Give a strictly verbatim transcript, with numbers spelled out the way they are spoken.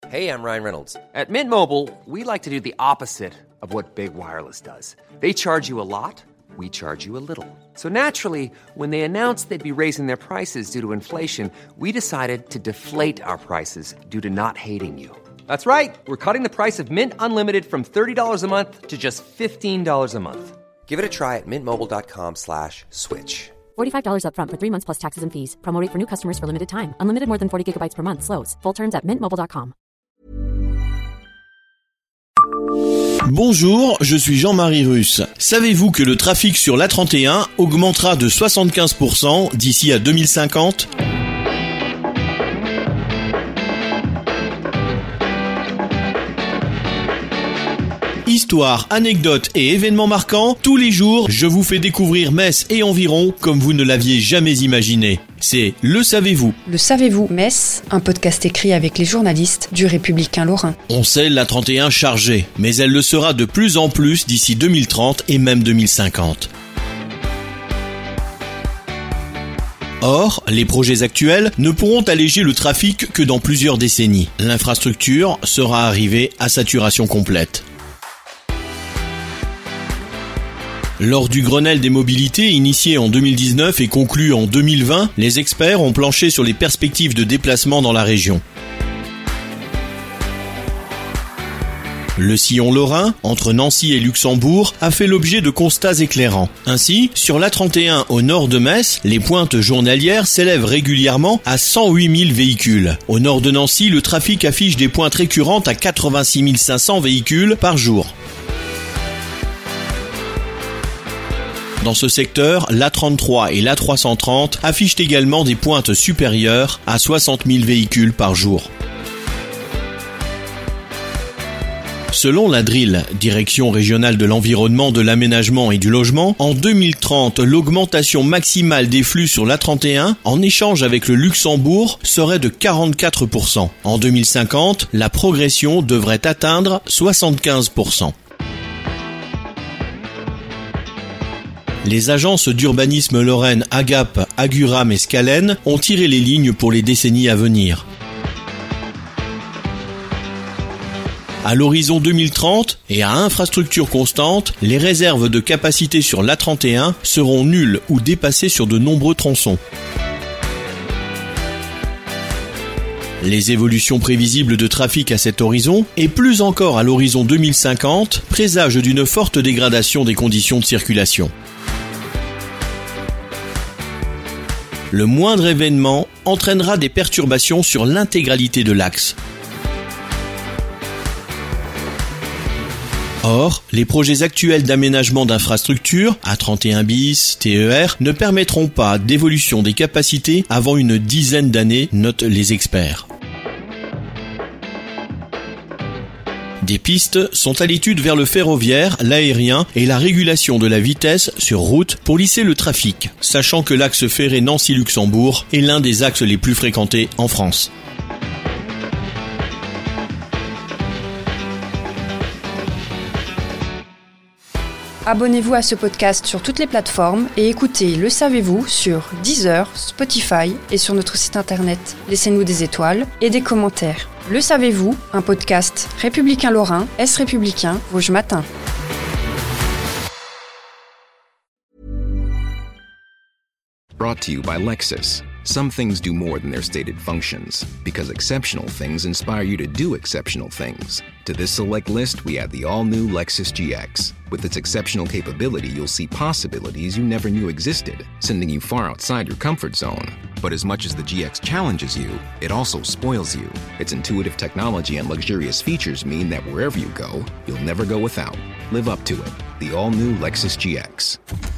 Hey, I'm Ryan Reynolds. At Mint Mobile, we like to do the opposite of what Big Wireless does. They charge you a lot, we charge you a little. So naturally, when they announced they'd be raising their prices due to inflation, we decided to deflate our prices due to not hating you. That's right. We're cutting the price of Mint Unlimited from thirty dollars a month to just fifteen dollars a month. Give it a try at mintmobile.com slash switch. forty-five dollars up front for three months plus taxes and fees. Promo rate for new customers for limited time. Unlimited more than forty gigabytes per month. Slows full terms at mint mobile dot com. Bonjour, je suis Jean-Marie Russe. Savez-vous que le trafic sur l'A trente et un augmentera de soixante-quinze pour cent d'ici à deux mille cinquante ? Histoire, anecdotes et événements marquants, tous les jours, je vous fais découvrir Metz et environ comme vous ne l'aviez jamais imaginé. C'est Le Savez-vous. Le Savez-vous, Metz, un podcast écrit avec les journalistes du Républicain Lorrain. On sait l'A trente et un chargée, mais elle le sera de plus en plus d'ici deux mille trente et même deux mille cinquante. Or, les projets actuels ne pourront alléger le trafic que dans plusieurs décennies. L'infrastructure sera arrivée à saturation complète. Lors du Grenelle des mobilités initié en deux mille dix-neuf et conclu en deux mille vingt, les experts ont planché sur les perspectives de déplacement dans la région. Le sillon lorrain, entre Nancy et Luxembourg, a fait l'objet de constats éclairants. Ainsi, sur l'A trente et un au nord de Metz, les pointes journalières s'élèvent régulièrement à cent huit mille véhicules. Au nord de Nancy, le trafic affiche des pointes récurrentes à quatre-vingt-six mille cinq cents véhicules par jour. Dans ce secteur, l'A trente-trois et l'A trois cent trente affichent également des pointes supérieures à soixante mille véhicules par jour. Selon la D R I L, Direction régionale de l'environnement, de l'aménagement et du logement, en deux mille trente, l'augmentation maximale des flux sur l'A trente et un, en échange avec le Luxembourg, serait de quarante-quatre pour cent. En deux mille cinquante, la progression devrait atteindre soixante-quinze pour cent. Les agences d'urbanisme lorraine Agap, Aguram et Scalen ont tiré les lignes pour les décennies à venir. À l'horizon deux mille trente, et à infrastructure constante, les réserves de capacité sur l'A trente et un seront nulles ou dépassées sur de nombreux tronçons. Les évolutions prévisibles de trafic à cet horizon, et plus encore à l'horizon deux mille cinquante, présagent d'une forte dégradation des conditions de circulation. Le moindre événement entraînera des perturbations sur l'intégralité de l'axe. Or, les projets actuels d'aménagement d'infrastructures, A trente et un bis, T E R, ne permettront pas d'évolution des capacités avant une dizaine d'années, notent les experts. Des pistes sont à l'étude vers le ferroviaire, l'aérien et la régulation de la vitesse sur route pour lisser le trafic, sachant que l'axe ferré Nancy-Luxembourg est l'un des axes les plus fréquentés en France. Abonnez-vous à ce podcast sur toutes les plateformes et écoutez Le Savez-vous sur Deezer, Spotify et sur notre site internet. Laissez-nous des étoiles et des commentaires. Le Savez-vous, un podcast républicain lorrain, Est républicain, Vosges Matin. Brought to you by Lexus. Some things do more than their stated functions, because exceptional things inspire you to do exceptional things. To this select list, we add the all-new Lexus G X. With its exceptional capability, you'll see possibilities you never knew existed, sending you far outside your comfort zone. But as much as the G X challenges you, it also spoils you. Its intuitive technology and luxurious features mean that wherever you go, you'll never go without. Live up to it. The all-new Lexus G X.